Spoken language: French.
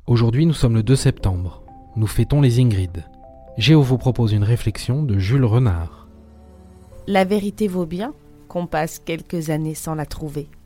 Aujourd'hui, nous sommes le 2 septembre. Nous fêtons les Ingrid. Géo vous propose une réflexion de Jules Renard. La vérité vaut bien qu'on passe quelques années sans la trouver.